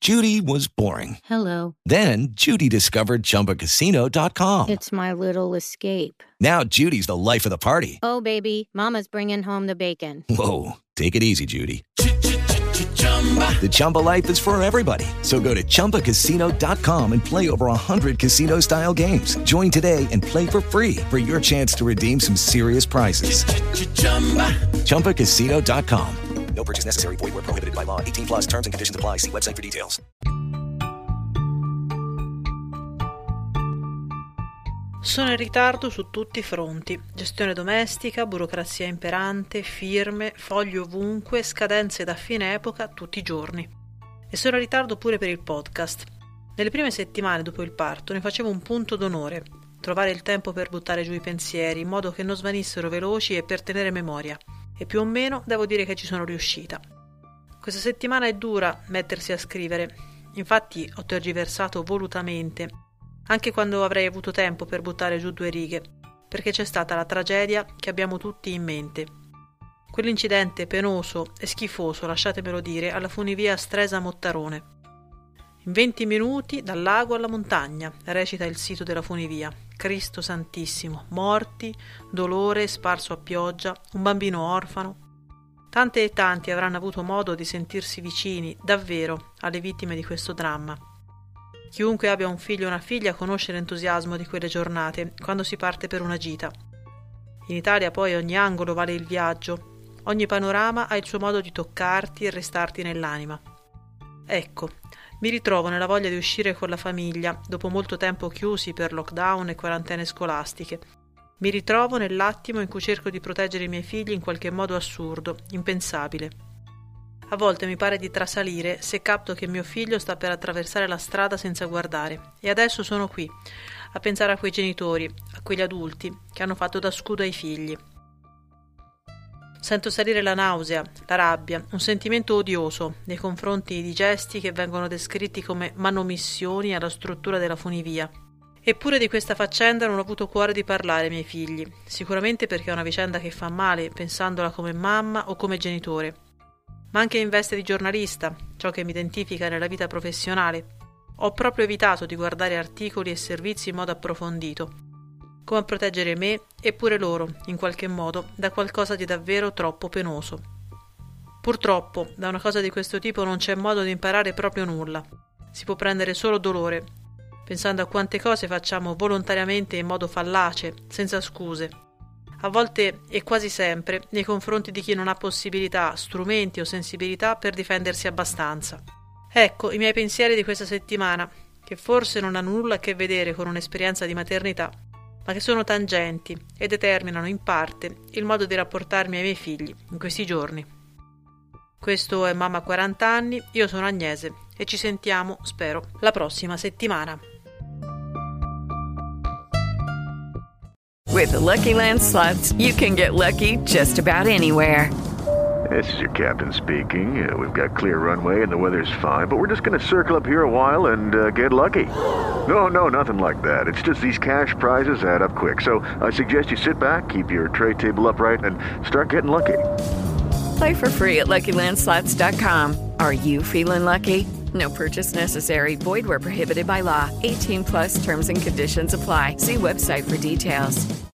Judy was boring. Hello. Then Judy discovered ChumbaCasino.com. It's my little escape. Now Judy's the life of the party. Oh, baby, mama's bringing home the bacon. Whoa, take it easy, Judy. The Chumba life is for everybody. So go to ChumbaCasino.com and play over 100 casino-style games. Join today and play for free for your chance to redeem some serious prizes. ChumbaCasino.com. No purchase necessary. Void where prohibited by law. 18 plus terms and conditions apply. See website for details. Sono in ritardo su tutti i fronti. Gestione domestica, burocrazia imperante, firme, fogli ovunque, scadenze da fine epoca tutti i giorni. E sono in ritardo pure per il podcast. Nelle prime settimane dopo il parto ne facevo un punto d'onore. Trovare il tempo per buttare giù i pensieri in modo che non svanissero veloci e per tenere memoria. E più o meno devo dire che ci sono riuscita. Questa settimana è dura mettersi a scrivere, infatti ho tergiversato volutamente, anche quando avrei avuto tempo per buttare giù 2 righe, perché c'è stata la tragedia che abbiamo tutti in mente. Quell'incidente penoso e schifoso, lasciatemelo dire, alla funivia Stresa-Mottarone. In 20 minuti dal lago alla montagna, recita il sito della funivia. Cristo Santissimo, morti, dolore sparso a pioggia, un bambino orfano. Tante e tanti avranno avuto modo di sentirsi vicini, davvero, alle vittime di questo dramma. Chiunque abbia un figlio o una figlia conosce l'entusiasmo di quelle giornate, quando si parte per una gita. In Italia poi ogni angolo vale il viaggio, ogni panorama ha il suo modo di toccarti e restarti nell'anima. Ecco, mi ritrovo nella voglia di uscire con la famiglia, dopo molto tempo chiusi per lockdown e quarantene scolastiche. Mi ritrovo nell'attimo in cui cerco di proteggere i miei figli in qualche modo assurdo, impensabile. A volte mi pare di trasalire se capto che mio figlio sta per attraversare la strada senza guardare. E adesso sono qui, a pensare a quei genitori, a quegli adulti, che hanno fatto da scudo ai figli. Sento salire la nausea, la rabbia, un sentimento odioso nei confronti di gesti che vengono descritti come manomissioni alla struttura della funivia. Eppure di questa faccenda non ho avuto cuore di parlare ai miei figli, sicuramente perché è una vicenda che fa male pensandola come mamma o come genitore. Ma anche in veste di giornalista, ciò che mi identifica nella vita professionale, ho proprio evitato di guardare articoli e servizi in modo approfondito, come a proteggere me e pure loro, in qualche modo, da qualcosa di davvero troppo penoso. Purtroppo, da una cosa di questo tipo non c'è modo di imparare proprio nulla. Si può prendere solo dolore, pensando a quante cose facciamo volontariamente in modo fallace, senza scuse. A volte e quasi sempre nei confronti di chi non ha possibilità, strumenti o sensibilità per difendersi abbastanza. Ecco i miei pensieri di questa settimana, che forse non hanno nulla a che vedere con un'esperienza di maternità, ma che sono tangenti e determinano in parte il modo di rapportarmi ai miei figli in questi giorni. Questo è Mamma 40 anni, io sono Agnese e ci sentiamo, spero, la prossima settimana. With the Lucky Land Slots, you can get lucky just about anywhere. This is your captain speaking. We've got clear runway and the weather's fine, but we're just going to circle up here a while and get lucky. No, nothing like that. It's just these cash prizes add up quick. So I suggest you sit back, keep your tray table upright, and start getting lucky. Play for free at LuckyLandSlots.com. Are you feeling lucky? No purchase necessary. Void where prohibited by law. 18 plus terms and conditions apply. See website for details.